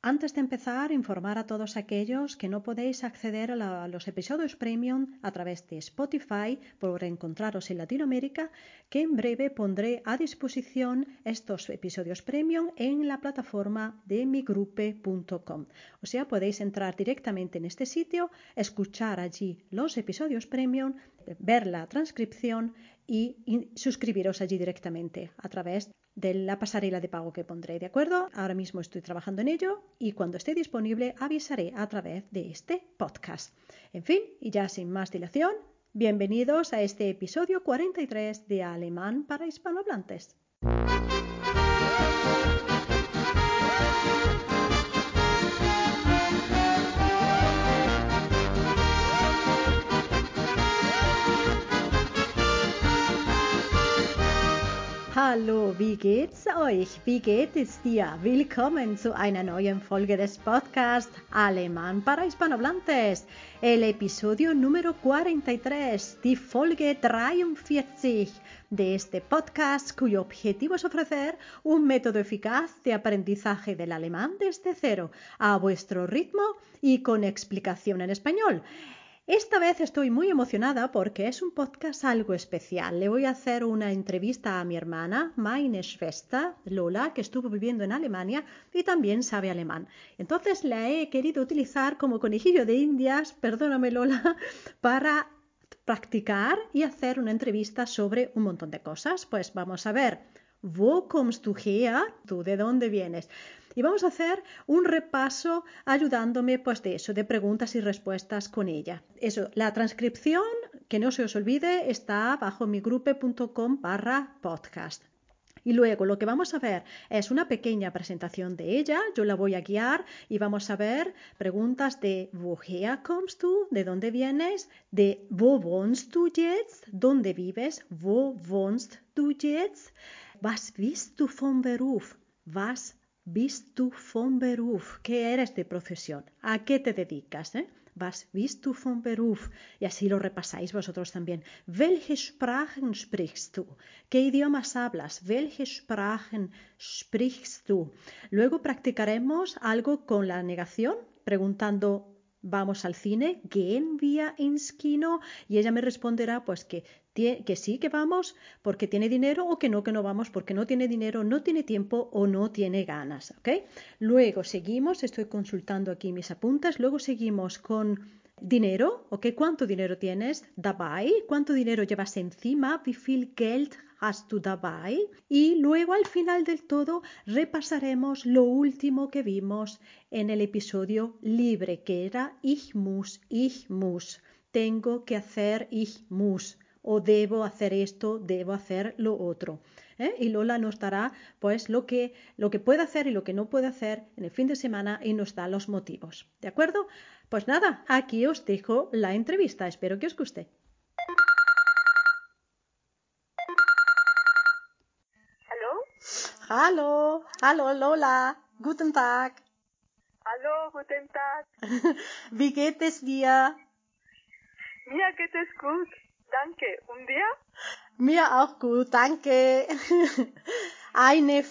Antes de empezar, informar a todos aquellos que no podéis acceder a los episodios premium a través de Spotify por encontraros en Latinoamérica, que en breve pondré a disposición estos episodios premium en la plataforma de migrupe.com. O sea, podéis entrar directamente en este sitio, escuchar allí los episodios premium, ver la transcripción y suscribiros allí directamente a través de la pasarela de pago que pondré, ¿de acuerdo? Ahora mismo estoy trabajando en ello y cuando esté disponible avisaré a través de este podcast. En fin, y ya sin más dilación, bienvenidos a este episodio 43 de Alemán para hispanohablantes. Hallo, wie geht's euch? Wie geht es dir? Willkommen zu einer neuen Folge des Podcasts Alemán para hispanohablantes, el episodio número 43, die Folge 43 de este podcast cuyo objetivo es ofrecer un método eficaz de aprendizaje del alemán desde cero, a vuestro ritmo y con explicación en español. Esta vez estoy muy emocionada porque es un podcast algo especial. Le voy a hacer una entrevista a mi hermana, meine Schwester, Lola, que estuvo viviendo en Alemania y también sabe alemán. Entonces la he querido utilizar como conejillo de indias, perdóname Lola, para practicar y hacer una entrevista sobre un montón de cosas. Pues vamos a ver, ¿Wo kommst du her? ¿Tú de dónde vienes? Y vamos a hacer un repaso ayudándome pues de eso, de preguntas y respuestas con ella. Eso, la transcripción, que no se os olvide, está bajo migrupe.com/podcast. Y luego lo que vamos a ver es una pequeña presentación de ella, yo la voy a guiar y vamos a ver preguntas de woher kommst du, de dónde vienes, de wo wohnst du jetzt, dónde vives, wo wohnst du jetzt, was bist du von Beruf, was bist du von Beruf, ¿qué eres de profesión? ¿A qué te dedicas? Was bist du von Beruf? Y así lo repasáis vosotros también. Welche Sprachen sprichst du? ¿Qué idiomas hablas? Welche Sprachen sprichst du? Luego practicaremos algo con la negación, preguntando ¿vamos al cine? ¿Gehen wir ins Kino? Y ella me responderá pues que sí que vamos porque tiene dinero o que no vamos porque no tiene dinero, no tiene tiempo o no tiene ganas. ¿Okay? Luego seguimos, estoy consultando aquí mis apuntes, luego seguimos con dinero, ¿ok? ¿Cuánto dinero tienes dabei? ¿Cuánto dinero llevas encima? Wie viel Geld hast du dabei? Y luego al final del todo repasaremos lo último que vimos en el episodio libre, que era ich muss. Tengo que hacer ich muss. O debo hacer esto, debo hacer lo otro. Y Lola nos dará pues lo que puede hacer y lo que no puede hacer en el fin de semana y nos da los motivos. ¿De acuerdo? Pues nada, aquí os dejo la entrevista. Espero que os guste. Hallo? Hallo Lola. Guten Tag. Hallo, guten Tag. Wie geht es dir? Mir geht es gut. Danke. Und dir? Mir auch gut, danke. Eine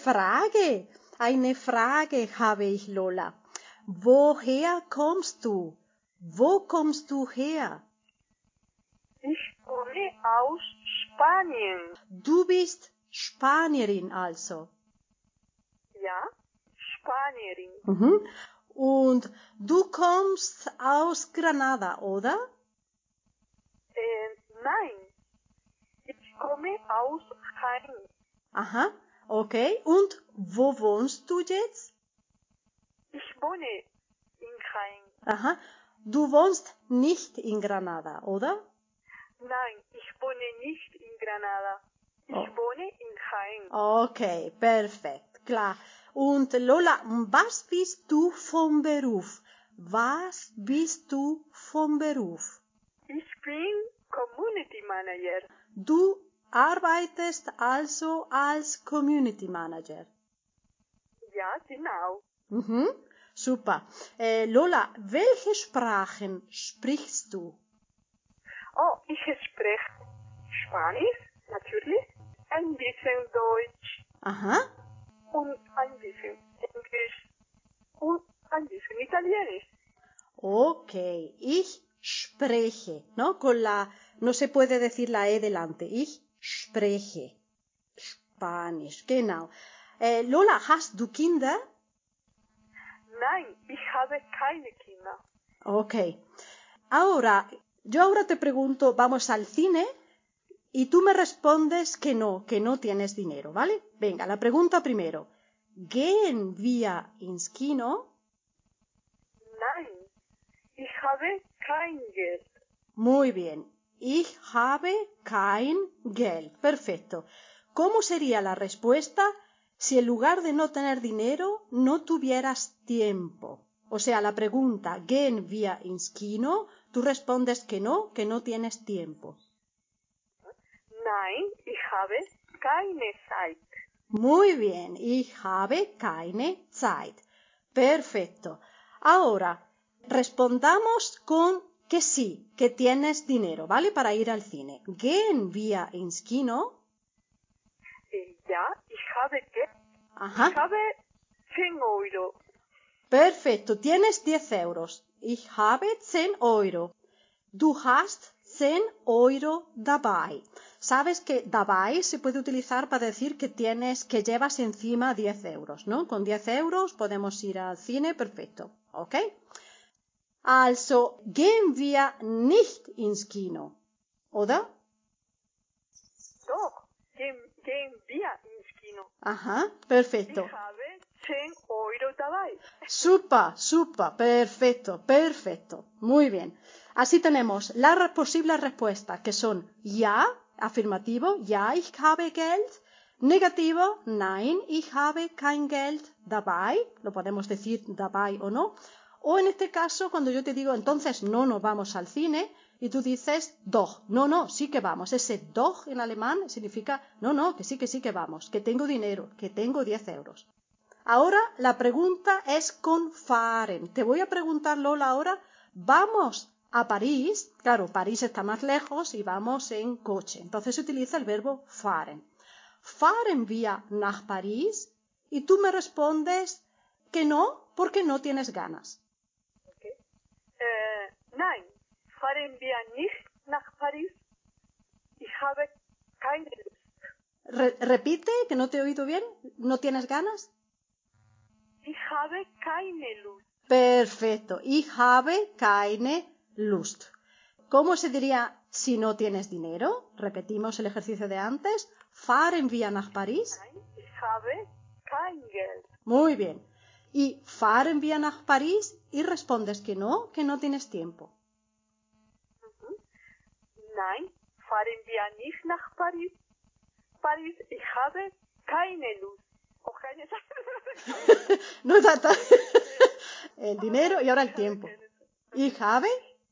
Frage habe ich, Lola. Woher kommst du? Wo kommst du her? Ich komme aus Spanien. Du bist Spanierin also. Ja, Spanierin. Mhm. Und du kommst aus Granada, oder? Nein, ich komme aus Jaén. Aha, okay. Und wo wohnst du jetzt? Ich wohne in Jaén. Aha, du wohnst nicht in Granada, oder? Nein, ich wohne nicht in Granada. Ich wohne in Jaén. Okay, perfekt, klar. Und Lola, was bist du vom Beruf? Was bist du vom Beruf? Ich bin Community Manager. Du arbeitest also als Community Manager. Ja, genau. Mhm, super. Lola, welche Sprachen sprichst du? Oh, ich spreche Spanisch, natürlich, ein bisschen Deutsch Aha, und ein bisschen Englisch und en italiano. Ok, ich spreche, ¿no? No se puede decir la E delante. Ich spreche. Spanisch, genau. Lola, hast du Kinder? Nein, ich habe keine Kinder. Ok. Yo ahora te pregunto, ¿vamos al cine? Y tú me respondes que no tienes dinero, ¿vale? Venga, la pregunta primero. ¿Gehen wir ins Kino? Nein, ich habe kein Geld. Muy bien. Ich habe kein Geld. Perfecto. ¿Cómo sería la respuesta si en lugar de no tener dinero no tuvieras tiempo? O sea, la pregunta, ¿gehen wir ins Kino? Tú respondes que no tienes tiempo. Nein, ich habe keine Zeit. Muy bien. Ich habe keine Zeit. Perfecto. Ahora, respondamos con que sí, que tienes dinero, ¿vale? Para ir al cine. Gehen wir ins Kino? Ja, ich habe Geld. Ajá. Ich habe 10 Euro. Perfecto, tienes 10 euros. Ich habe 10 Euro. Du hast 10 Euro dabei. Sabes que dabei se puede utilizar para decir que llevas encima 10 euros, ¿no? Con 10 euros podemos ir al cine, perfecto. ¿Ok? Also, gehen wir nicht ins Kino, oder? Doch, gehen wir ins Kino. Ajá, perfecto. Ich habe 10 Euro dabei. Super, perfecto. Muy bien. Así tenemos las posibles respuestas que son ja, afirmativo, ja, ich habe Geld. Negativo, nein, ich habe kein Geld dabei. Lo podemos decir dabei o no. O en este caso, cuando yo te digo, entonces no nos vamos al cine, y tú dices doch, no, sí que vamos. Ese doch en alemán significa no, que sí que vamos, que tengo dinero, que tengo 10 euros. Ahora la pregunta es con fahren. Te voy a preguntar, Lola, ahora, ¿vamos a París? Claro, París está más lejos y vamos en coche. Entonces se utiliza el verbo fahren. ¿Fahren wir nach París? Y tú me respondes que no, porque no tienes ganas. Okay. Nein, fahren wir nicht nach Paris. Ich habe keine Lust. Repite, que no te he oído bien. ¿No tienes ganas? Ich habe keine Lust. Perfecto. Ich habe keine Lust. ¿Cómo se diría si no tienes dinero? Repetimos el ejercicio de antes. Fahren wir nach Paris? Nein, ich habe kein Geld. Muy bien. Y fahren wir nach Paris y respondes que no tienes tiempo. Nein, fahren wir nicht nach Paris. Paris, ich habe keine Lust. O keine Zeit. No trata el dinero y ahora el tiempo. Ich habe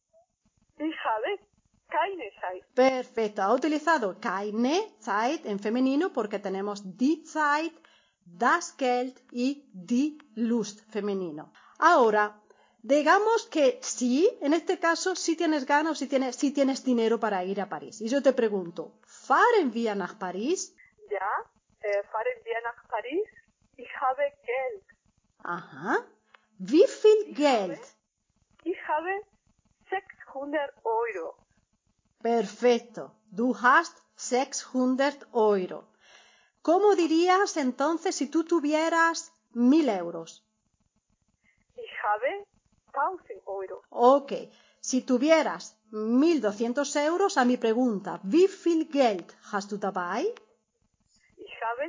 keine Zeit. Perfecto. Ha utilizado keine Zeit en femenino porque tenemos die Zeit, das Geld y die Lust femenino. Ahora, digamos que sí, en este caso sí tienes ganas o sí tienes dinero para ir a París. Y yo te pregunto, ¿fahren wir nach Paris? Ja, fahren wir nach Paris. Ich habe Geld. Ajá. Wie viel Geld? Ich habe 600 Euro. Perfecto. Du hast 600 Euro. ¿Cómo dirías entonces si tú tuvieras 1000 euros? Ich habe 1000 Euro. Ok. Si tuvieras 1200 euros, a mi pregunta, ¿wie viel Geld hast du dabei? Ich habe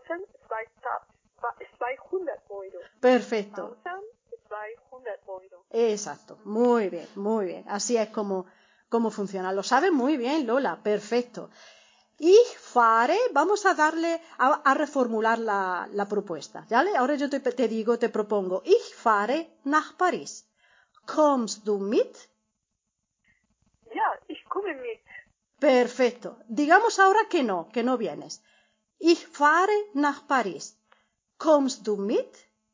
1200 Euro. Perfecto. 1200 Euro. Exacto. Muy bien. Así es como funciona. Lo sabes muy bien, Lola. Perfecto. Ich fahre, vamos a darle a reformular la propuesta, ¿vale? Ahora yo te propongo, ich fahre nach Paris. Kommst du mit? Ja, ich komme mit. Perfecto. Digamos ahora que no vienes. Ich fahre nach Paris. Kommst du mit?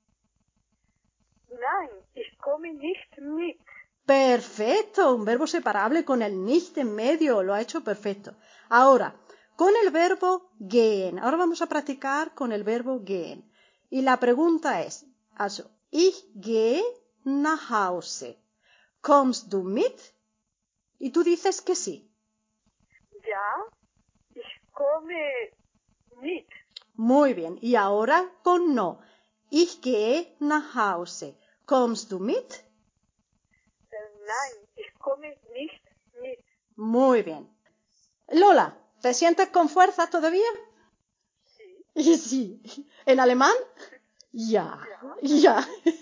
Nein, ich komme nicht mit. Perfecto, un verbo separable con el nicht en medio, lo ha hecho perfecto. Ahora, con el verbo gehen. Ahora vamos a practicar con el verbo gehen. Y la pregunta es, also, ich gehe nach Hause. ¿Kommst du mit? Y tú dices que sí. Ja, ich komme mit. Muy bien. Y ahora con no. Ich gehe nach Hause. ¿Kommst du mit? Nein, ich komme nicht mit. Muy bien. Lola, ¿te sientes con fuerza todavía? Sí. Y sí. ¿En alemán? Ja. Ja.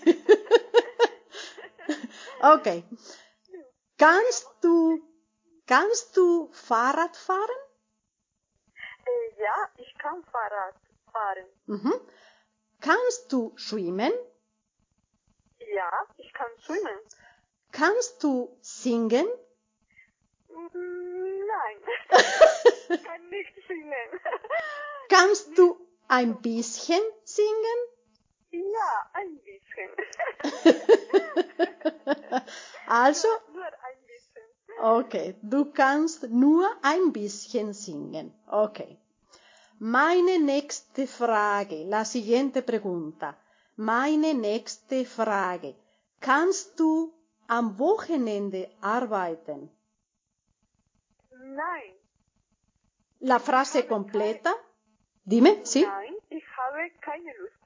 Okay. Kannst du Fahrrad fahren? Ja, ich kann Fahrrad fahren. Mhm. Kannst du schwimmen? Ja, ich kann schwimmen. Kannst du singen? Nein, ich kann nicht singen. Kannst du ein bisschen singen? Ja, ein bisschen. Also, Nur ein bisschen. okay, du kannst nur ein bisschen singen. Okay. Meine nächste Frage, la siguiente pregunta. Meine nächste Frage. Kannst du am Wochenende arbeiten? Nein. La frase completa. Dime, ¿sí? Nein, ich habe keine Lust.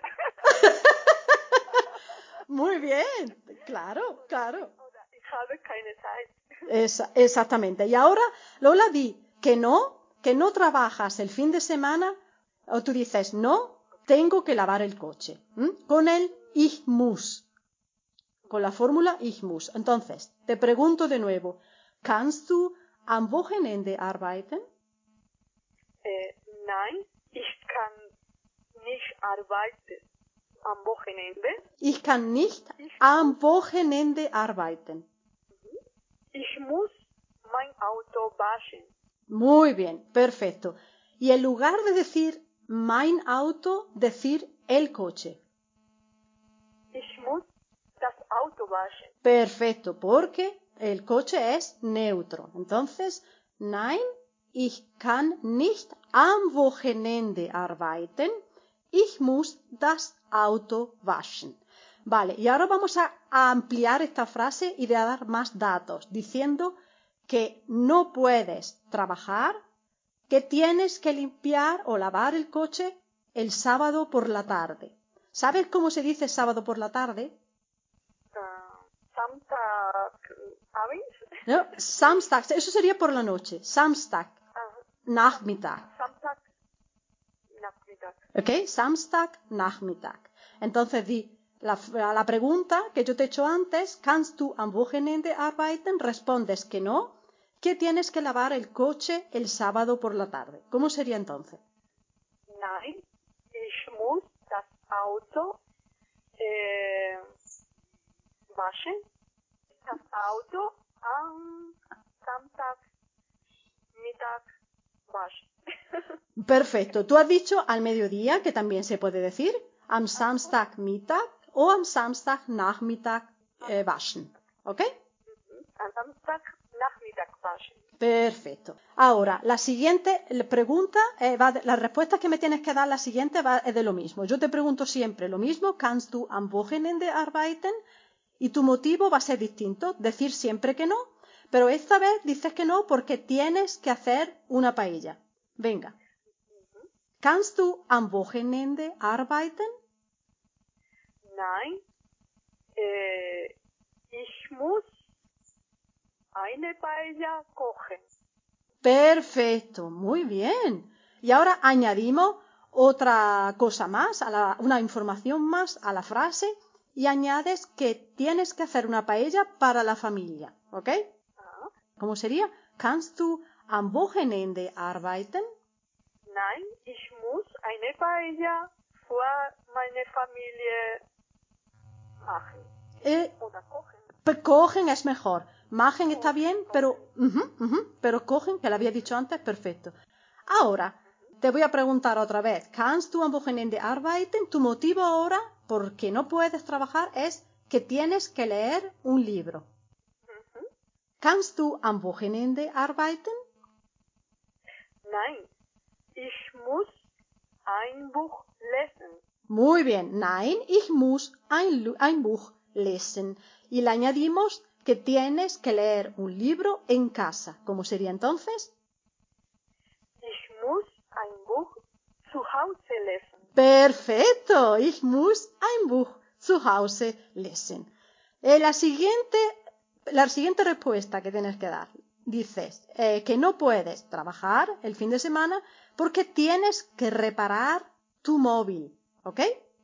Muy bien, claro, claro. Oder ich habe keine Zeit. Exactamente. Y ahora, Lola, di que no trabajas el fin de semana, o tú dices, no, tengo que lavar el coche. Con el ich muss. Con la fórmula ich muss. Entonces, te pregunto de nuevo, ¿kannst du am Wochenende arbeiten? Nein, ich kann nicht arbeiten am Wochenende. Ich kann nicht am Wochenende arbeiten. Ich muss mein Auto waschen. Muy bien, perfecto. Y en lugar de decir mein Auto, decir el coche. Ich muss das Auto waschen. Perfecto, porque el coche es neutro. Entonces, nein, ich kann nicht am Wochenende arbeiten. Ich muss das Auto waschen. Vale, y ahora vamos a ampliar esta frase y de dar más datos, diciendo que no puedes trabajar, que tienes que limpiar o lavar el coche el sábado por la tarde. ¿Sabes cómo se dice sábado por la tarde? Samstagabend? No, Samstag, eso sería por la noche. Samstag, Nachmittag. Samstag, Nachmittag. ¿Ok? Samstag, Nachmittag. Entonces di la pregunta que yo te he hecho antes, ¿kannst du am Wochenende arbeiten? Respondes que no, que tienes que lavar el coche el sábado por la tarde. ¿Cómo sería entonces? Nein, ich muss das Auto waschen. Das Auto am Samstagmittag waschen. Perfecto. Tú has dicho al mediodía, que también se puede decir, am Samstagmittag o am Samstagnachmittag waschen. ¿Ok? Am Samstagnachmittag waschen. Perfecto. Ahora, la siguiente pregunta, la respuesta que me tienes que dar, la siguiente es de lo mismo. Yo te pregunto siempre lo mismo, ¿kannst du am Wochenende arbeiten? Y tu motivo va a ser distinto, decir siempre que no, pero esta vez dices que no porque tienes que hacer una paella. Venga. ¿Kannst du am Wochenende arbeiten? Nein, ich muss eine Paella kochen. Perfecto, muy bien. Y ahora añadimos otra cosa más, una información más a la frase y añades que tienes que hacer una paella para la familia, ¿ok? ¿Cómo sería? ¿Kannst du am Wochenende arbeiten? Nein, ich muss eine Paella für meine Familie machen. Oder kochen. Cogen es mejor. Machen está bien, pero pero cogen, que lo había dicho antes, perfecto. Ahora, te voy a preguntar otra vez. ¿Kannst du am Wochenende arbeiten? Tu motivo ahora, porque no puedes trabajar, es que tienes que leer un libro. ¿Kannst du am Wochenende arbeiten? Nein, ich muss ein Buch lesen. Muy bien. Nein, ich muss ein Buch lesen. Y le añadimos que tienes que leer un libro en casa. ¿Cómo sería entonces? Ich muss ein Buch zu Hause lesen. Perfecto. Ich muss ein Buch zu Hause lesen. La siguiente respuesta que tienes que dar. Dices que no puedes trabajar el fin de semana porque tienes que reparar tu móvil. ¿Ok?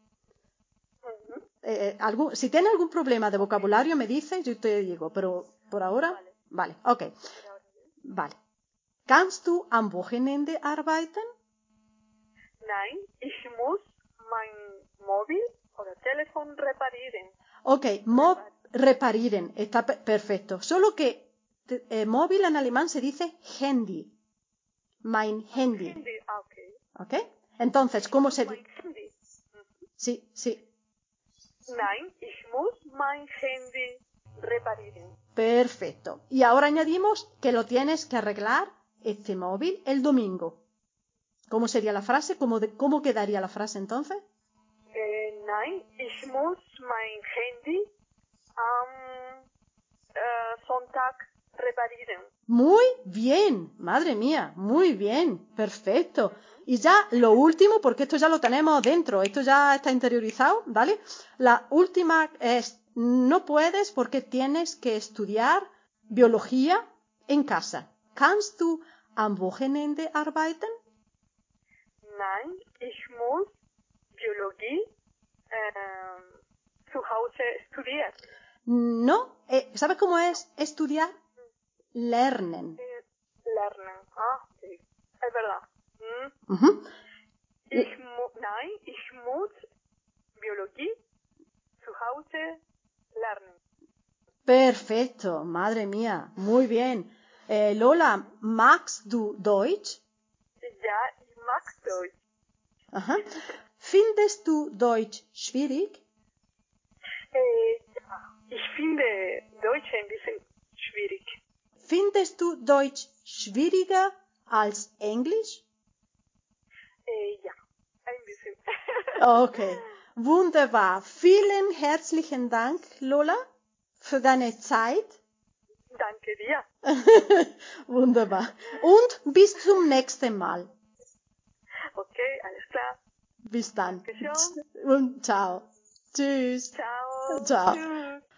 Si tienes algún problema de vocabulario me dices, yo te digo, pero por ahora, vale, ok, vale. Kannst du am Wochenende arbeiten? Nein, ich muss mein Mobil oder Telefon reparieren. Ok, reparieren, está perfecto. Solo que móvil en alemán se dice Handy. Mein Handy. Handy, ok. ¿Ok? Entonces, ¿cómo se Mein dice? Handy. Sí, sí. Nein, ich muss mein Handy reparieren. Perfecto. Y ahora añadimos que lo tienes que arreglar este móvil el domingo. ¿Cómo sería la frase? ¿Cómo quedaría la frase entonces? Nein, ich muss mein Handy am Sonntag reparieren. Muy bien, madre mía, muy bien, perfecto. Y ya lo último, porque esto ya lo tenemos dentro, esto ya está interiorizado, ¿vale? La última es, no puedes porque tienes que estudiar biología en casa. ¿Kannst du am Wochenende arbeiten? Nein, ich muss Biologie zu Hause studieren. No, ¿sabes cómo es estudiar? Lernen. Lernen. Ah, sí. Es verdad. Ujú. Nein, ich muss Biologie zu Hause lernen. Perfecto, madre mía, muy bien. Lola, magst du Deutsch? Ja, ich mag Deutsch. Aha. Findest du Deutsch schwierig? Ja, ich finde Deutsch ein bisschen schwierig. Findest du Deutsch schwieriger als Englisch? Ja, ein bisschen. Okay, wunderbar. Vielen herzlichen Dank, Lola, für deine Zeit. Danke dir. Wunderbar. Und bis zum nächsten Mal. Okay, alles klar. Bis dann. Dankeschön. Und ciao. Tschüss. Ciao. Ciao. Tschüss.